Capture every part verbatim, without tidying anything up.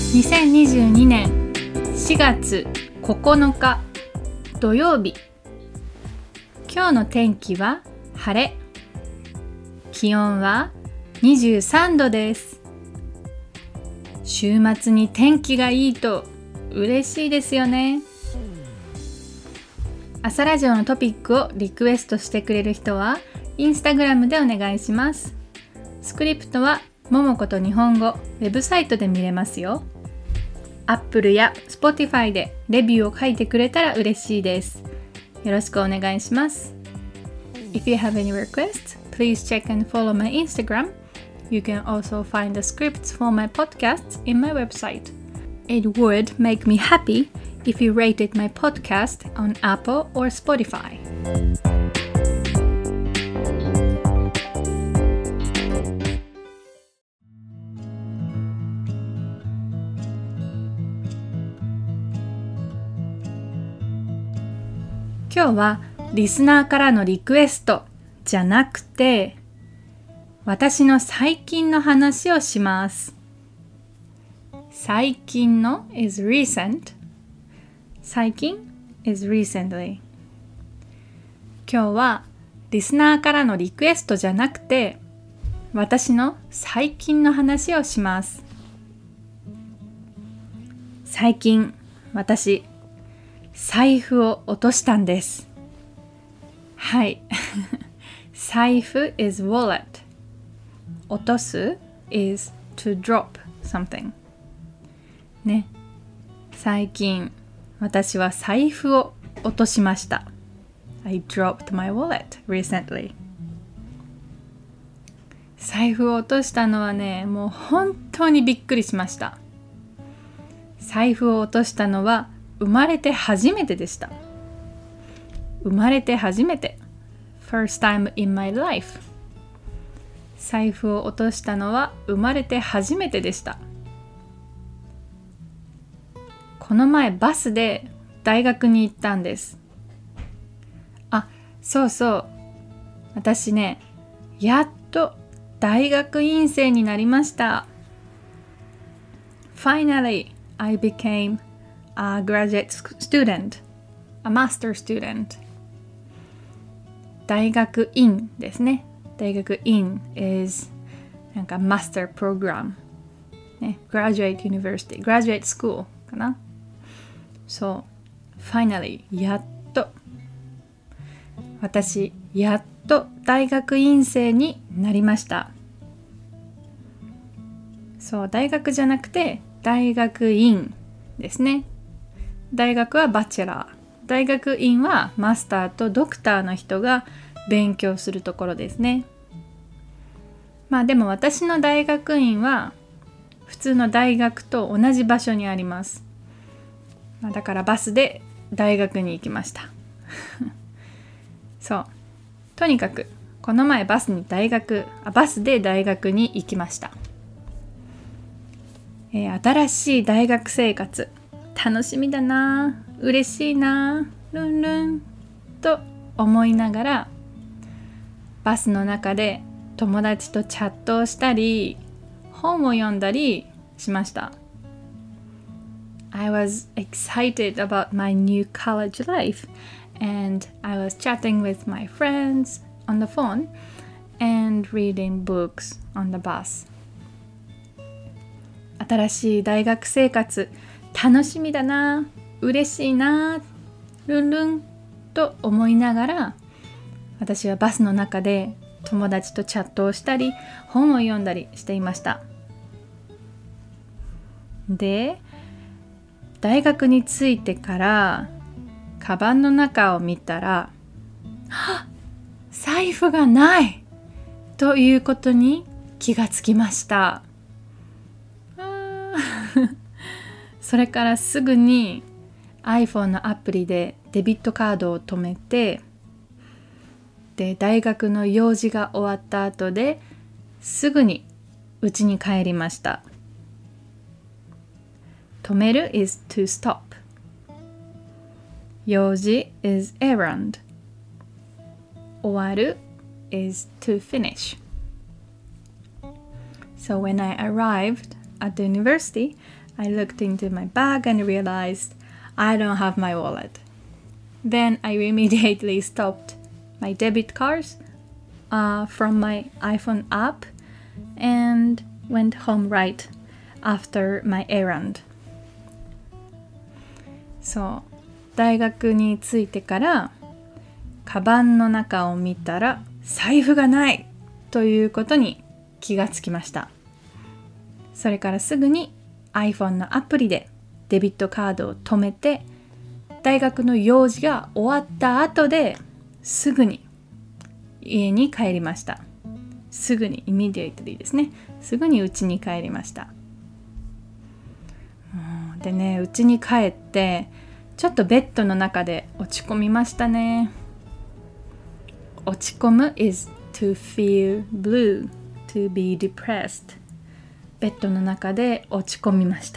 にせんにじゅうにねんしがつここのか土曜日。今日の天気は晴れ。気温はにじゅうさんどです。週末に天気がいいと嬉しいですよね。朝ラジオのトピックをリクエストしてくれる人はインスタグラムでお願いします。スクリプトはももこと日本語ウェブサイトで見れますよ。Apple や Spotify でレビューを書いてくれたら嬉しいです。よろしくお願いします。If you have any requests, please check and follow my Instagram. You can also find the scripts for my podcasts in my website. It would make me happy if you rated my podcast on Apple or Spotify. 今日はリスナーからのリクエストじゃなくて、私の最近の話をします。最近の is recent。最近 is recently。今日はリスナーからのリクエストじゃなくて、私の最近の話をします。最近、私、財布を落としたんです。はい。財布 is wallet。落とす is to drop something。ね。最近、私は財布を落としました。I dropped my wallet recently. 財布を落としたのはね、もう本当にびっくりしました。財布を落としたのは生まれて初めてでした。生まれて初めて。First time in my life. 財布を落としたのは生まれて初めてでした。この前バスで大学に行ったんです。あ、そうそう。私ね、やっと大学院生になりました。Finally, I became a graduate student, a master student. 大学院ですね。大学院 is なんか master program、ね、graduate university, graduate school かな。そう、finally やっと私やっと大学院生になりました。そう、大学じゃなくて大学院ですね。大学はバチェラー、大学院はマスターとドクターの人が勉強するところですね。まあでも私の大学院は普通の大学と同じ場所にあります。だからバスで大学に行きました。そう。とにかくこの前バスに大学、あ、バスで大学に行きました。えー、新しい大学生活楽しみだな、嬉しいな、ルンルンと思いながらバスの中で友達とチャットをしたり本を読んだりしました。I was excited about my new college life and I was chatting with my friends on the phone and reading books on the bus. 新しい大学生活楽しみだな、嬉しいな、ルンルンと思いながら私はバスの中で友達とチャットをしたり本を読んだりしていました。で、大学に着いてからカバンの中を見たら、はっ、財布がないということに気がつきました。あそれからすぐに iPhone のアプリでデビットカードを止めて、で大学の用事が終わった後ですぐに家に帰りました。止める is to stop。 用事 is errand。 終わる is to finish。So when I arrived at the university, I looked into my bag and realized I don't have my wallet. Then I immediately stopped my debit cards uh, from my iPhone app and went home right after my errand. そう、大学に着いてからカバンの中を見たら財布がないということに気がつきました。それからすぐに iPhone のアプリでデビットカードを止めて、大学の用事が終わった後ですぐに家に帰りました。すぐに immediately ですね。すぐに家に帰りました。でね、家に帰ってちょっとベッドの中で落ち込みましたね。落ち込む is to feel blue, to be depressed。 ベッドの中で落ち込みました。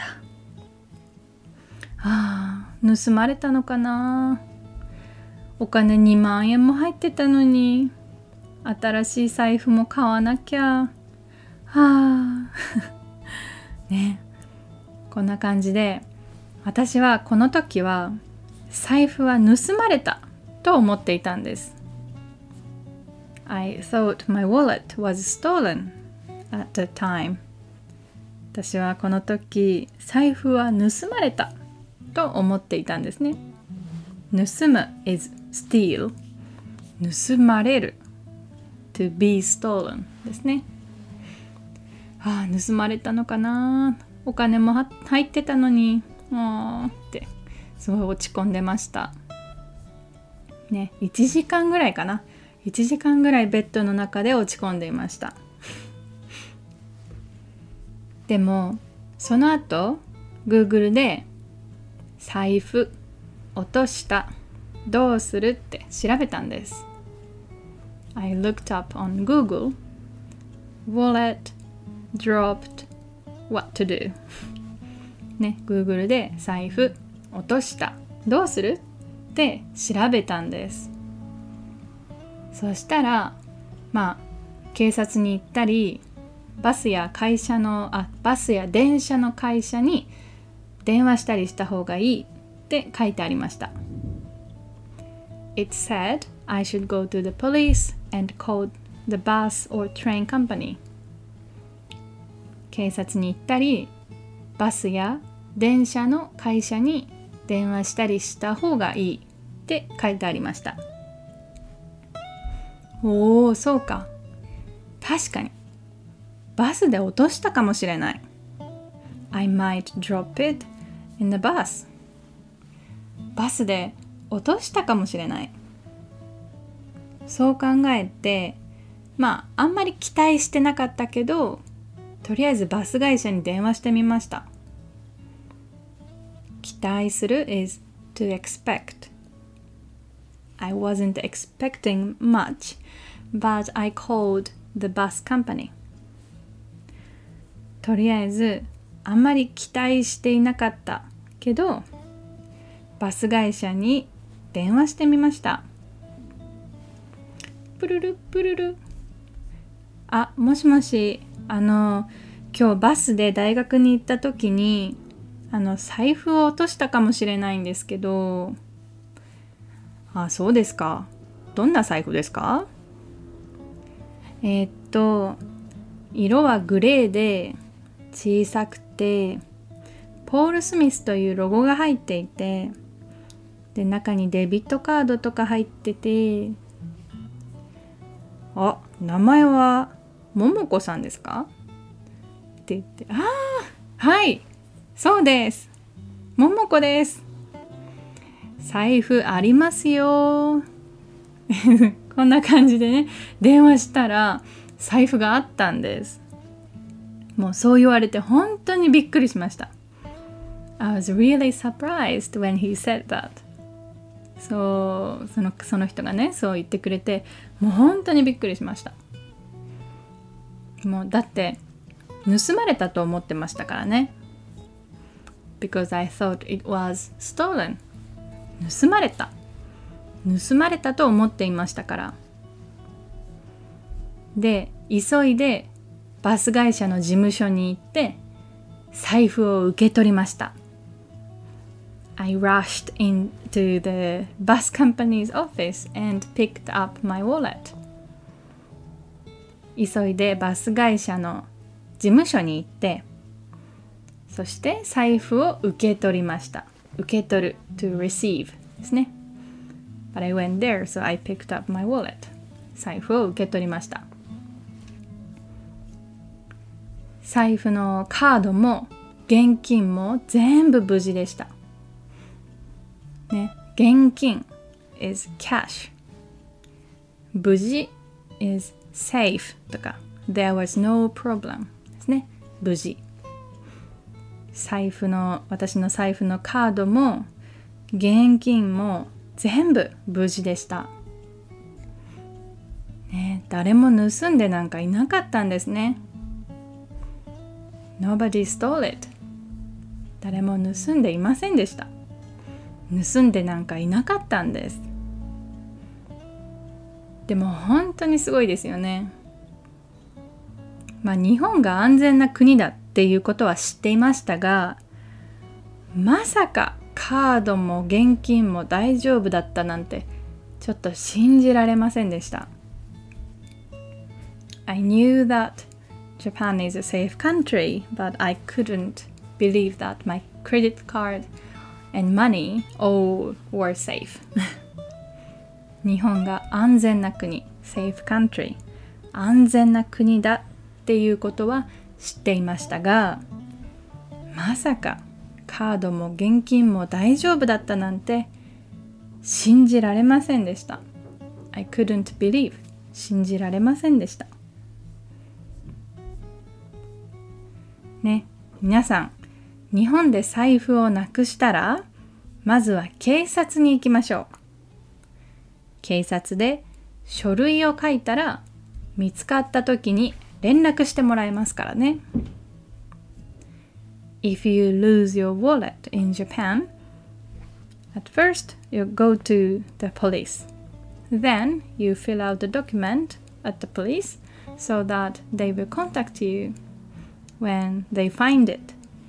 ああ、盗まれたのかな。お金にまんえんも入ってたのに、新しい財布も買わなきゃ。はあね、こんな感じで、私はこの時は財布は盗まれたと思っていたんです。I thought my wallet was stolen at the time. 私はこの時財布は盗まれたと思っていたんですね。盗む is steal。盗まれる to be stolen ですね。ああ、盗まれたのかな。お金も入ってたのに、もうってすごい落ち込んでました。ね、いちじかんぐらいかな。いちじかんぐらいベッドの中で落ち込んでいました。でもその後 Google で財布落としたどうするって調べたんです。 I looked up on Google Wallet dropped what to do ね、Google で財布落としたどうするって調べたんです。そしたらまあ警察に行ったり、バスや会社のあバスや電車の会社に電話したりした方がいいって書いてありました。 It said I should go to the police and call the bus or train company。 警察に行ったり、バスや電車の会社に電話したりした方がいいって書いてありました。おー、そうか。確かにバスで落としたかもしれない。 I might drop it in the bus。 バスで落としたかもしれない。そう考えて、まああんまり期待してなかったけど、とりあえずバス会社に電話してみました。期待する is to expect。 I wasn't expecting much, but I called the bus company。 とりあえずあんまり期待していなかったけど、バス会社に電話してみました。プルルプルル。あ、もしもし、あの今日バスで大学に行った時にあの財布を落としたかもしれないんですけど。あ、そうですか。どんな財布ですか？えー、っと色はグレーで小さくて、ポール・スミスというロゴが入っていて、で中にデビットカードとか入ってて、あ、名前はももこさんですかって言って、ああ、はい、そうです、ももこです、財布ありますよこんな感じでね、電話したら財布があったんです。もうそう言われて本当にびっくりしました。 I was really surprised when he said that。 そうその、その人がねそう言ってくれて、もう本当にびっくりしました。もうだって盗まれたと思ってましたからね。 Because I thought it was stolen。 盗まれた盗まれたと思っていましたから。で急いでバス会社の事務所に行って財布を受け取りました。I rushed into the bus company's office and picked up my wallet. 急いでバス会社の事務所に行って、そして財布を受け取りました。受け取る to receive ですね。But I went there, so I picked up my wallet. 財布を受け取りました。財布のカードも現金も全部無事でした。ね、現金 is cash。無事 is safe とか there was no problem ですね。無事。財布の、私の財布のカードも現金も全部無事でした。ね、誰も盗んでなんかいなかったんですね。Nobody stole it. 誰も盗んでいませんでした。盗んでなんかいなかったんです。でも本当にすごいですよね。まあ日本が安全な国だっていうことは知っていましたが、まさかカードも現金も大丈夫だったなんてちょっと信じられませんでした。I knew that Japan is a safe country, but I couldn't believe that my credit card and money all were safe. 日本が安全な国、safe country、安全な国だっていうことは知っていましたが、まさかカードも現金も大丈夫だったなんて信じられませんでした。I couldn't believe 信じられませんでした。ね、皆さん、日本で財布をなくしたら、まずは警察に行きましょう。警察で書類を書いたら、見つかった時に連絡してもらえますからね。If you lose your wallet in Japan, at first you go to the police. Then you fill out the document at the police so that they will contact you.When they find it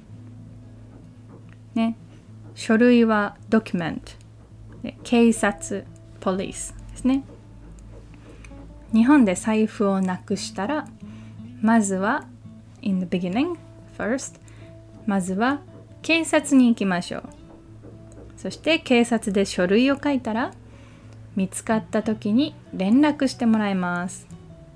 ね、書類は document で警察 police ですね。日本で財布をなくしたらまずは in the beginning first まずは警察に行きましょう。そして警察で書類を書いたら見つかった時に連絡してもらいます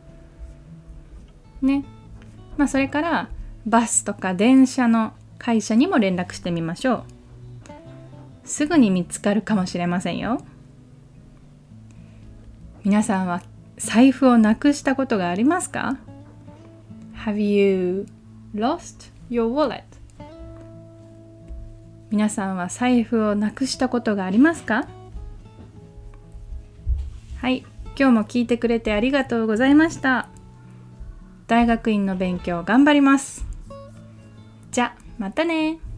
ね。まあそれからバスとか電車の会社にも連絡してみましょう。すぐに見つかるかもしれませんよ。皆さんは財布をなくしたことがありますか？ Have you lost your wallet? 皆さんは財布をなくしたことがありますか？はい、今日も聞いてくれてありがとうございました。大学院の勉強頑張ります。じゃあまたね。